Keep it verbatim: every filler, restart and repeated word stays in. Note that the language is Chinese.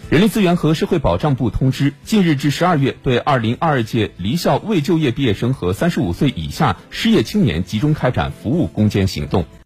人力资源和社会保障部通知，近日至十二月对二零二二届离校未就业毕业生和三十五岁以下失业青年集中开展服务攻坚行动。